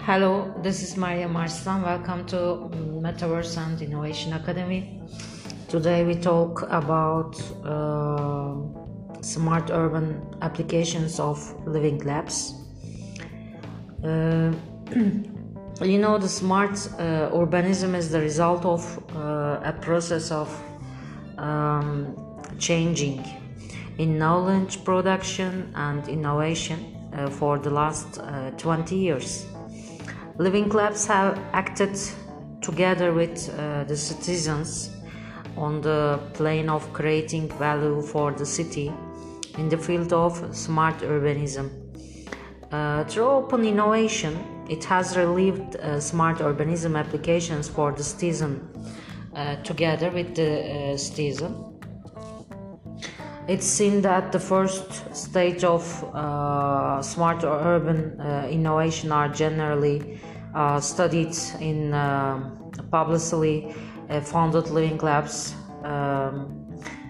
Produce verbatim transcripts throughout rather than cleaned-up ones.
Hello, this is Maria Marslan. Welcome to Metaverse and Innovation Academy. Today we talk about uh, smart urban applications of living labs. Uh, you know, the smart uh, urbanism is the result of uh, a process of um, changing in knowledge production and innovation uh, for the last uh, twenty years. Living labs have acted together with uh, the citizens on the plane of creating value for the city in the field of smart urbanism. Uh, through open innovation, it has relieved uh, smart urbanism applications for the citizen uh, together with the uh, citizen. It's seen that the first stage of uh, smart urban uh, innovation are generally uh, studied in uh, publicly uh, funded living labs. Um,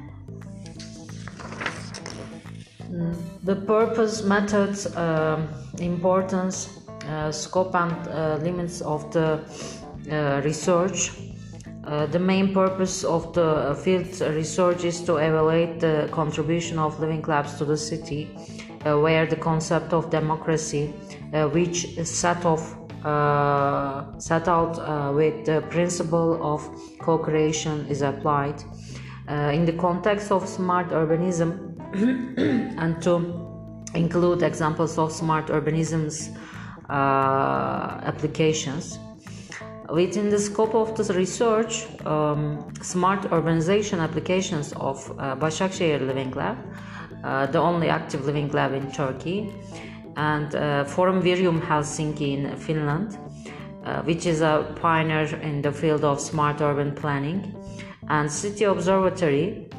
the purpose, methods, uh, importance, uh, scope and uh, limits of the uh, research. Uh, the main purpose of the field research is to evaluate the contribution of living labs to the city, uh, where the concept of democracy, uh, which is set off, uh, set out uh, with the principle of co-creation, is applied. Uh, in the context of smart urbanism, and to include examples of smart urbanism's uh, applications. Within the scope of the research, um, smart urbanization applications of uh, Başakşehir Living Lab, uh, the only active living lab in Turkey, and uh, Forum Virium Helsinki in Finland, uh, which is a pioneer in the field of smart urban planning, and City Observatory,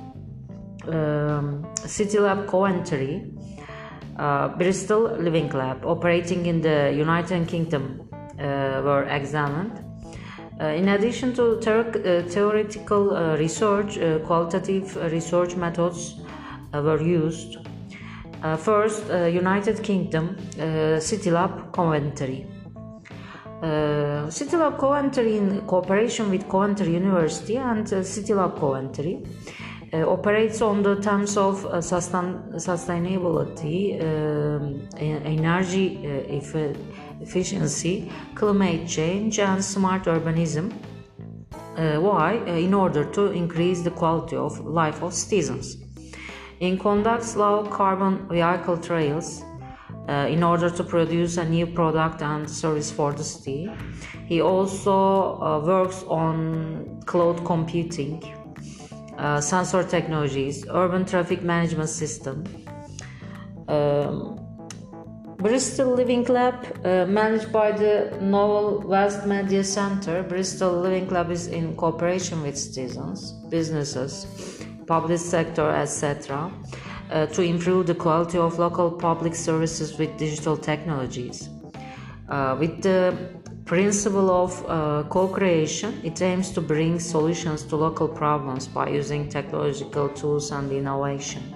um, City Lab Coventry, uh, Bristol Living Lab, operating in the United Kingdom, uh, were examined. Uh, in addition to ter- uh, theoretical uh, research, uh, qualitative uh, research methods uh, were used. Uh, first, uh, United Kingdom, uh, City Lab Coventry. Uh, City Lab Coventry, in cooperation with Coventry University and uh, City Lab Coventry, uh, operates on the terms of uh, sustain- sustainability, um, energy uh, if, efficiency, climate change, and smart urbanism. Uh, why? Uh, in order to increase the quality of life of citizens. In conducts low carbon vehicle trails uh, in order to produce a new product and service for the city. He also uh, works on cloud computing, uh, sensor technologies, urban traffic management system. Um, Bristol Living Lab, uh, managed by the Novel West Media Center. Bristol Living Lab is in cooperation with citizens, businesses, public sector, et cetera, uh, to improve the quality of local public services with digital technologies. Uh, with the principle of uh, co-creation, it aims to bring solutions to local problems by using technological tools and innovation.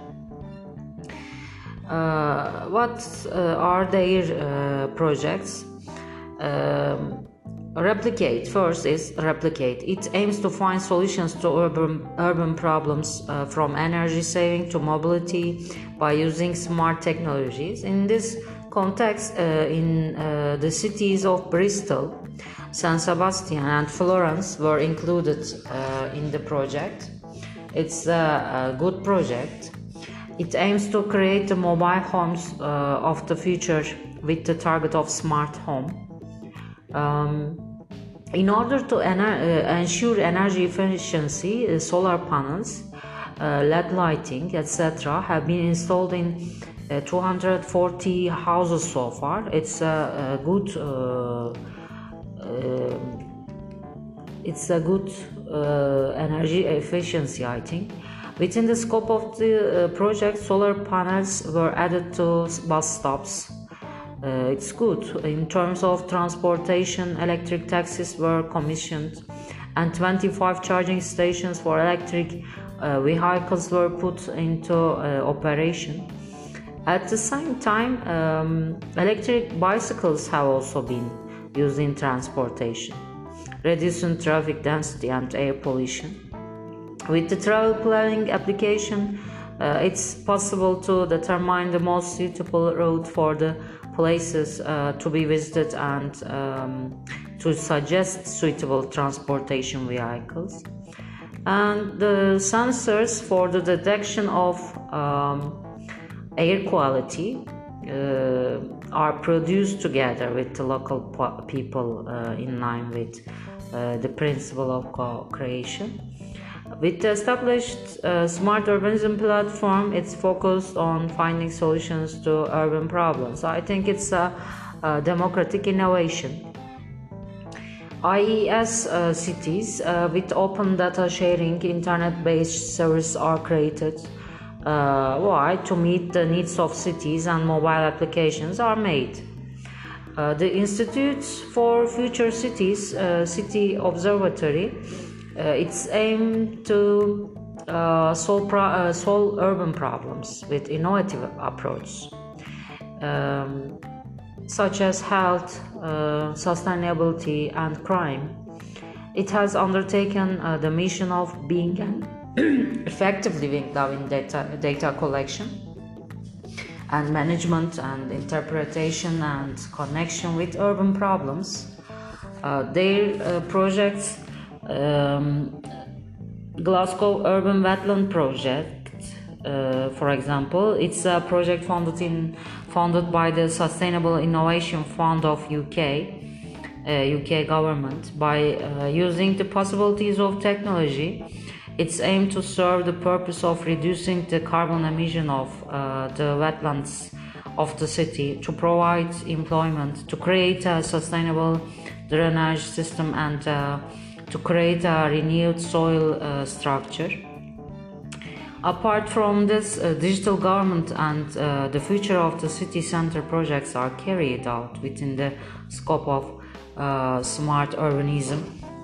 Uh, what uh, are their uh, projects? Um, replicate. First is replicate. It aims to find solutions to urban urban problems, uh, from energy saving to mobility, by using smart technologies. In this context, uh, in uh, the cities of Bristol, San Sebastian, and Florence were included uh, in the project. It's a, a good project. It aims to create the mobile homes uh, of the future with the target of smart home. Um, in order to ener- uh, ensure energy efficiency, uh, solar panels, uh, L E D lighting, et cetera have been installed in uh, two hundred forty houses so far. It's a, a good, uh, uh, it's a good uh, energy efficiency, I think. Within the scope of the uh, project, solar panels were added to bus stops. Uh, it's good. In terms of transportation, electric taxis were commissioned, and twenty-five charging stations for electric uh, vehicles were put into uh, operation. At the same time, um, electric bicycles have also been used in transportation, reducing traffic density and air pollution. With the travel planning application, uh, it's possible to determine the most suitable route for the places uh, to be visited and um, to suggest suitable transportation vehicles. And the sensors for the detection of um, air quality uh, are produced together with the local po- people uh, in line with uh, the principle of co-creation. With the established uh, smart urbanism platform, it's focused on finding solutions to urban problems. I think it's a, a democratic innovation. I E S uh, cities uh, with open data sharing, internet-based services are created. Uh, why? To meet the needs of cities, and mobile applications are made. Uh, the Institute for Future Cities, uh, City Observatory, uh, it's aimed to uh, solve, pro- uh, solve urban problems with innovative approach. Um, such as health, uh, sustainability, and crime. It has undertaken uh, the mission of being an effective living law in data, data collection and management and interpretation and connection with urban problems. Uh, their uh, projects, um, Glasgow Urban Wetland Project, Uh, for example, it's a project funded in funded by the Sustainable Innovation Fund of U K, uh, U K government. By uh, using the possibilities of technology, it's aimed to serve the purpose of reducing the carbon emission of uh, the wetlands of the city, to provide employment, to create a sustainable drainage system, and uh, to create a renewed soil uh, structure. Apart from this, uh, digital government and uh, the future of the city center projects are carried out within the scope of uh, smart urbanism.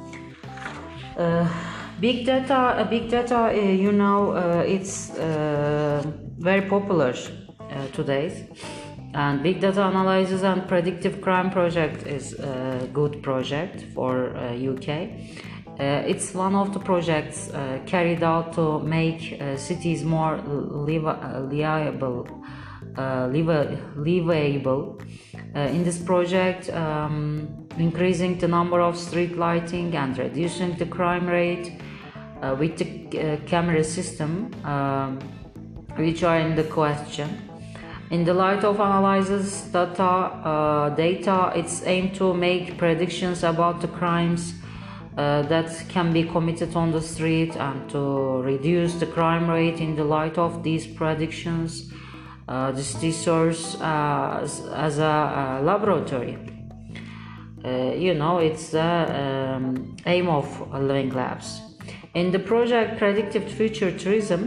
Uh, big data, uh, big data, uh, you know, uh, it's uh, very popular uh, today. And big data analysis and predictive crime project is a good project for uh, U K. Uh, it's one of the projects uh, carried out to make uh, cities more livable, uh, livable. Uh, in this project, um, increasing the number of street lighting and reducing the crime rate uh, with the uh, camera system, um, which are in the question. In the light of analysis data, uh, data, it's aimed to make predictions about the crimes Uh, that can be committed on the street, and to reduce the crime rate. In the light of these predictions, uh, the city serves uh, as, as a, a laboratory. Uh, you know, it's the um, aim of Living Labs. In the project Predictive Future Tourism,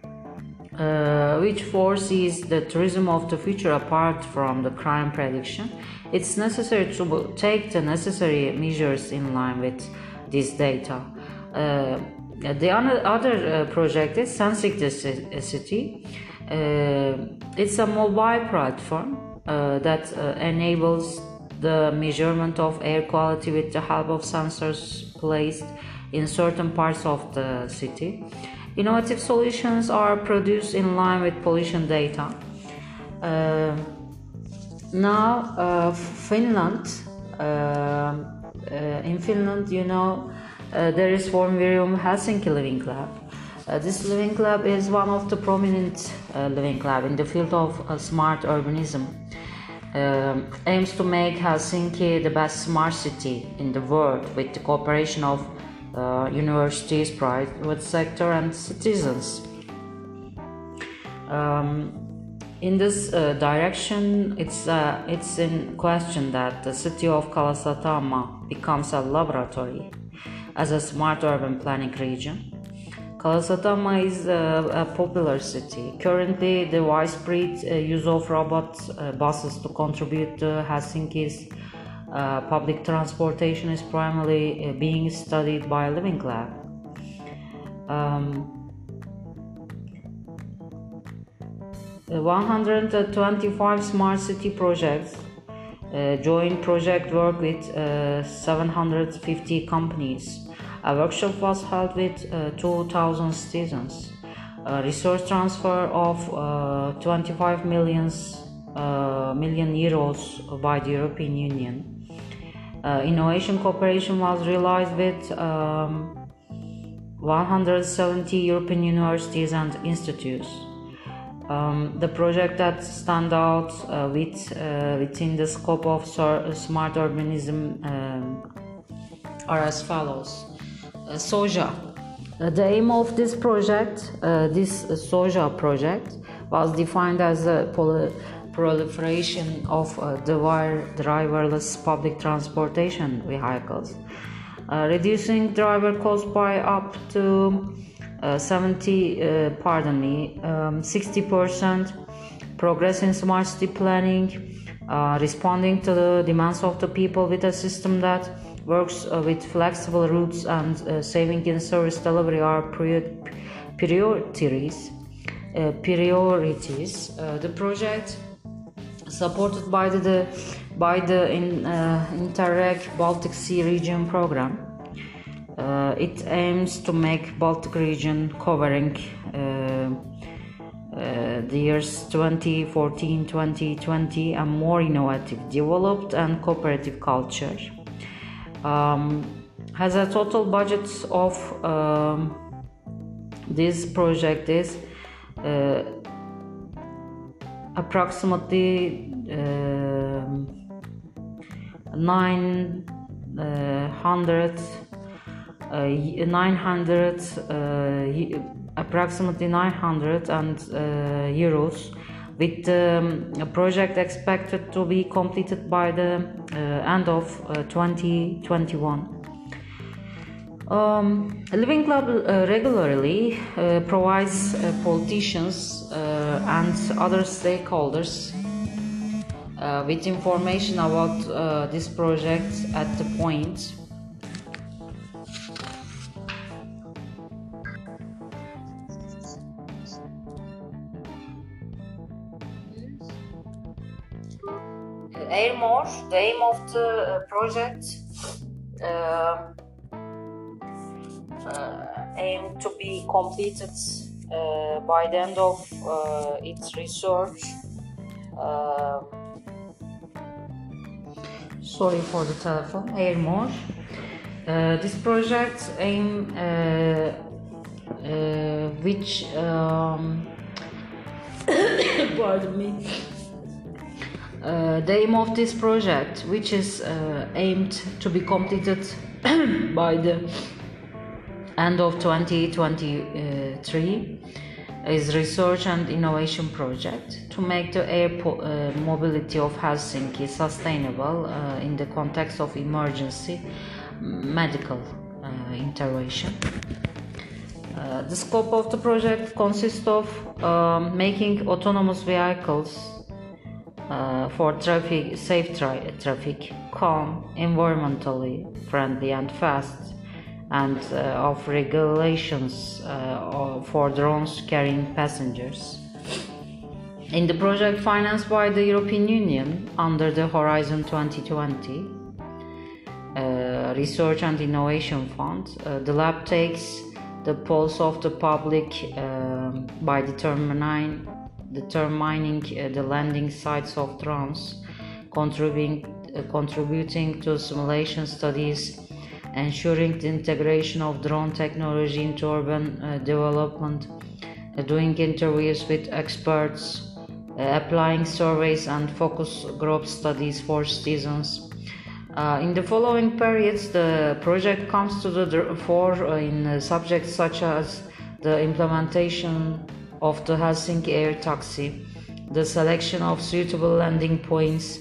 uh, which foresees the tourism of the future apart from the crime prediction, it's necessary to take the necessary measures in line with this data. Uh, the other uh, project is Sensing the City. Uh, it's a mobile platform uh, that uh, enables the measurement of air quality with the help of sensors placed in certain parts of the city. Innovative solutions are produced in line with pollution data. Uh, now, uh, Finland. Uh, Uh, in Finland, you know, uh, there is Formvirium Helsinki Living Lab. Uh, this Living Lab is one of the prominent uh, living lab in the field of uh, smart urbanism. Um, aims to make Helsinki the best smart city in the world with the cooperation of uh, universities, private sector, and citizens. Um, In this uh, direction, it's uh, it's in question that the city of Kalasatama becomes a laboratory as a smart urban planning region. Kalasatama is uh, a popular city. Currently, the widespread uh, use of robot uh, buses to contribute to Helsinki's uh, public transportation is primarily uh, being studied by Living Lab. Um, one hundred twenty-five smart city projects uh, joint project work with uh, seven hundred fifty companies. A workshop was held with uh, two thousand students. A resource transfer of uh, twenty-five millions, uh, million euros by the European Union. Uh, innovation cooperation was realized with um, one hundred seventy European universities and institutes. Um, the project that stand out uh, with, uh, within the scope of smart urbanism um, are as follows. Uh, SOJA. Uh, the aim of this project, uh, this uh, SOJA project, was defined as a poly- proliferation of uh, driverless public transportation vehicles, uh, reducing driver costs by up to uh, seventy, uh, pardon me, um, sixty percent, progress in smart city planning, uh, responding to the demands of the people with a system that works uh, with flexible routes, and uh, saving in service delivery are prior- priorities. Uh, priorities. Uh, the project, supported by the, the by the in, uh, Interreg Baltic Sea Region program, uh, it aims to make Baltic region covering uh, uh, the years twenty fourteen to twenty twenty a more innovative, developed, and cooperative culture. Um, has a total budget of um, this project is uh, approximately uh, nine hundred uh, nine hundred uh, approximately nine hundred and uh, euros, with the um, project expected to be completed by the uh, end of uh, twenty twenty-one. Um, Living Club uh, regularly uh, provides uh, politicians uh, and other stakeholders uh, with information about uh, this project at the point Airmore. The aim of the uh, project uh, uh, aim to be completed uh, by the end of uh, its research. Uh, sorry for the telephone. Airmore. Uh, this project aim uh, uh, which um, pardon me. Uh, the aim of this project, which is uh, aimed to be completed by the end of twenty twenty-three, is research and innovation project to make the air po- uh, mobility of Helsinki sustainable uh, in the context of emergency medical uh, intervention. Uh, the scope of the project consists of um, making autonomous vehicles Uh, for traffic, safe tra- traffic, calm, environmentally friendly and fast, and uh, of regulations uh, for drones carrying passengers. In the project financed by the European Union under the Horizon twenty twenty uh, Research and Innovation Fund, uh, the lab takes the pulse of the public uh, by determining determining uh, the landing sites of drones, contributing, uh, contributing to simulation studies, ensuring the integration of drone technology into urban uh, development, uh, doing interviews with experts, uh, applying surveys and focus group studies for citizens. Uh, in the following periods, the project comes to the fore uh, in uh, subjects such as the implementation of the Helsinki air taxi, the selection of suitable landing points,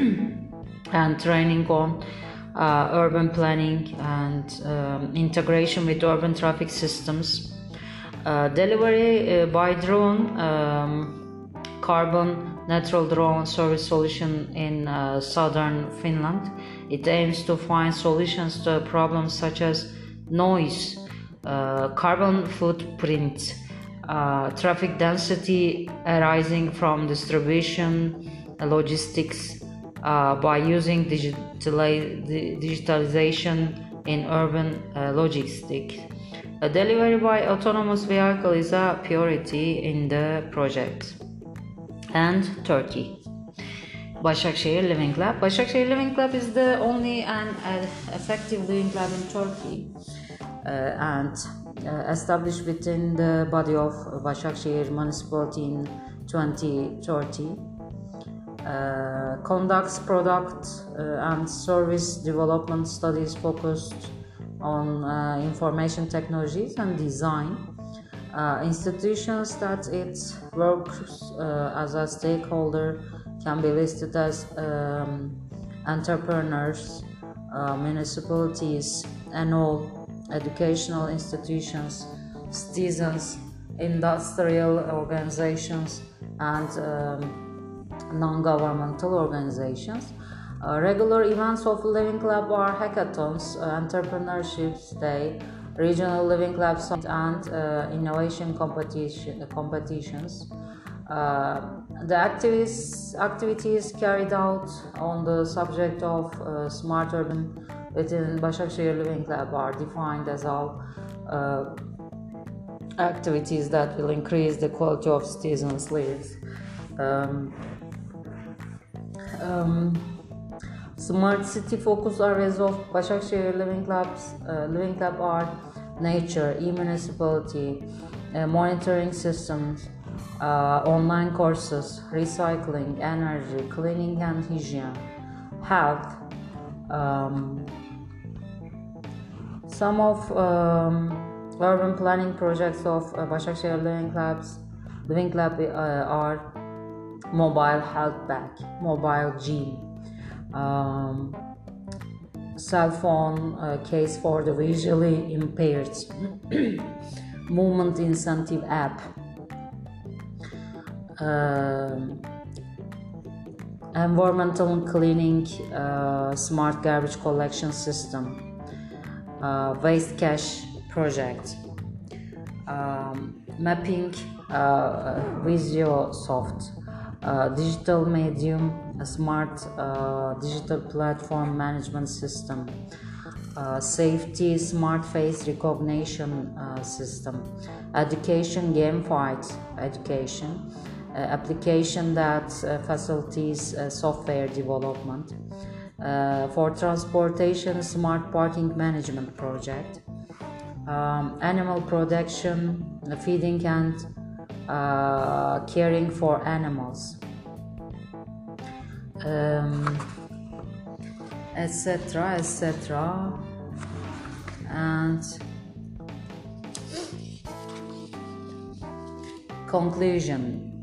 and training on uh, urban planning and um, integration with urban traffic systems, uh, delivery uh, by drone, um, carbon neutral drone service solution in uh, southern Finland. It aims to find solutions to problems such as noise, uh, carbon footprint, uh, traffic density arising from distribution, logistics, uh, by using digitali- digitalization in urban uh, logistics. A delivery by autonomous vehicle is a priority in the project. And Turkey. Başakşehir Living Lab. Başakşehir Living Lab is the only and uh, effective living lab in Turkey uh, and uh, established within the body of Başakşehir municipality in twenty thirty. Uh, conducts product uh, and service development studies focused on uh, information technologies and design. Uh, institutions that it works uh, as a stakeholder can be listed as um, entrepreneurs, uh, municipalities, and all educational institutions, citizens, industrial organizations, and um, non-governmental organizations. Uh, regular events of Living Lab are hackathons, uh, entrepreneurship day, regional Living Lab and uh, innovation competition, competitions. Uh, the activities, activities carried out on the subject of uh, smart urban within Başakşehir Living Lab are defined as all uh, activities that will increase the quality of citizens' lives. Um, um, Smart city focus areas of Başakşehir Living Labs uh, Living Lab are nature, e-municipality, uh, monitoring systems, uh, online courses, recycling, energy, cleaning and hygiene, health. Um, some of um, urban planning projects of uh, Başakşehir Living Labs Living Lab uh, are mobile health bag, mobile gym, Um, cell phone uh, case for the visually impaired, movement incentive app, uh, environmental cleaning, uh, smart garbage collection system, uh, waste cache project, um, mapping, uh, Visiosoft, uh, digital medium, a smart uh, digital platform management system, uh, safety smart face recognition uh, system, education gamified education, uh, application that uh, facilitates uh, software development, uh, for transportation smart parking management project, um, animal protection, feeding and uh, caring for animals, um, etc, etc, and conclusion.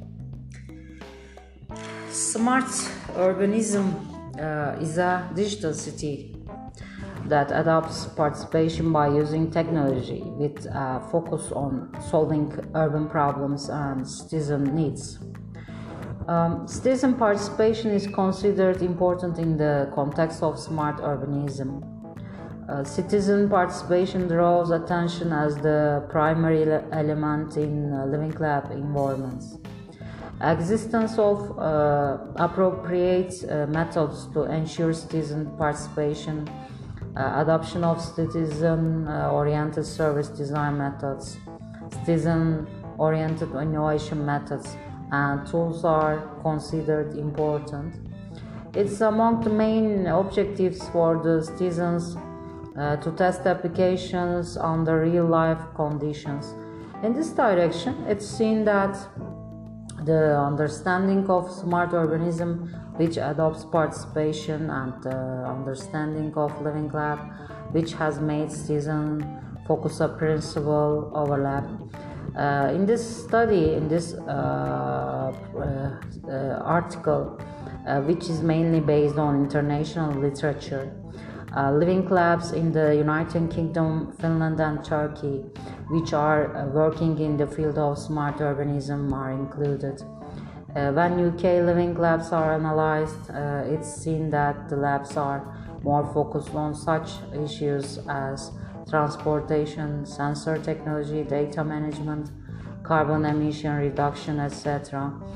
Smart urbanism uh, is a digital city that adopts participation by using technology with a focus on solving urban problems and citizen needs. Um, citizen participation is considered important in the context of smart urbanism. Uh, citizen participation draws attention as the primary le- element in uh, Living Lab environments. Existence of uh, appropriate uh, methods to ensure citizen participation, uh, adoption of citizen-oriented uh, service design methods, citizen-oriented innovation methods, and tools are considered important. It's among the main objectives for the citizens uh, to test applications under real-life conditions. In this direction, it's seen that the understanding of smart urbanism, which adopts participation, and the understanding of Living Lab, which has made citizen focus a principle overlap. Uh, in this study, in this uh, uh, uh, article, uh, which is mainly based on international literature, uh, Living Labs in the United Kingdom, Finland, and Turkey, which are uh, working in the field of smart urbanism, are included. Uh, when U K Living Labs are analyzed, uh, it's seen that the labs are more focused on such issues as transportation, sensor technology, data management, carbon emission reduction, et cetera.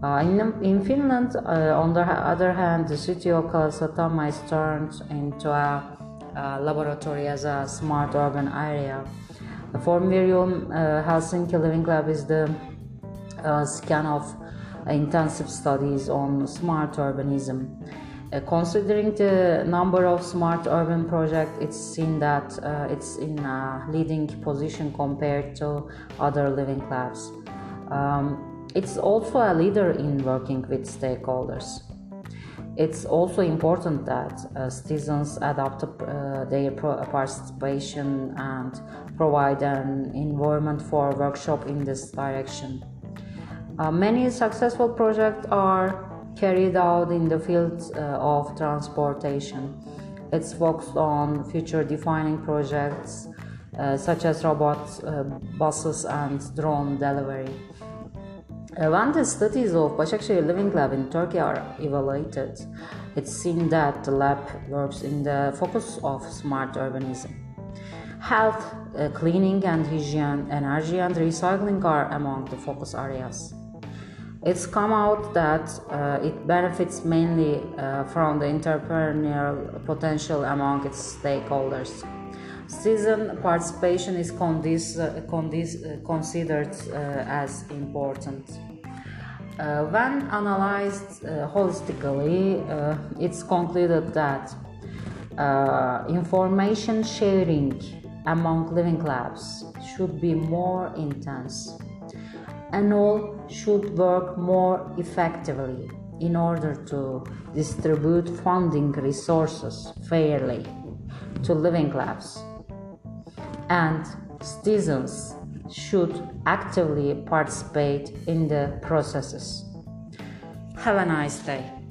Uh, in, in Finland, uh, on the other hand, the city of Kalasatama is turned into a, a laboratory as a smart urban area. For Miriam, uh, Helsinki Living Lab is the uh, scan of intensive studies on smart urbanism. Uh, considering the number of smart urban projects, it's seen that uh, it's in a leading position compared to other living labs. Um, It's also a leader in working with stakeholders. It's also important that uh, citizens adopt uh, their participation and provide an environment for workshop in this direction. Uh, many successful projects are carried out in the field uh, of transportation. It's focused on future-defining projects uh, such as robot uh, buses and drone delivery. Uh, when the studies of Başakşehir Living Lab in Turkey are evaluated, it's seen that the lab works in the focus of smart urbanism. Health, uh, cleaning and hygiene, energy and recycling are among the focus areas. It's come out that uh, it benefits mainly uh, from the entrepreneurial potential among its stakeholders. Citizen participation is condis, uh, condis, uh, considered uh, as important. Uh, when analyzed uh, holistically, uh, it's concluded that uh, information sharing among living labs should be more intense, and all should work more effectively in order to distribute funding resources fairly to living labs. And citizens should actively participate in the processes. Have a nice day.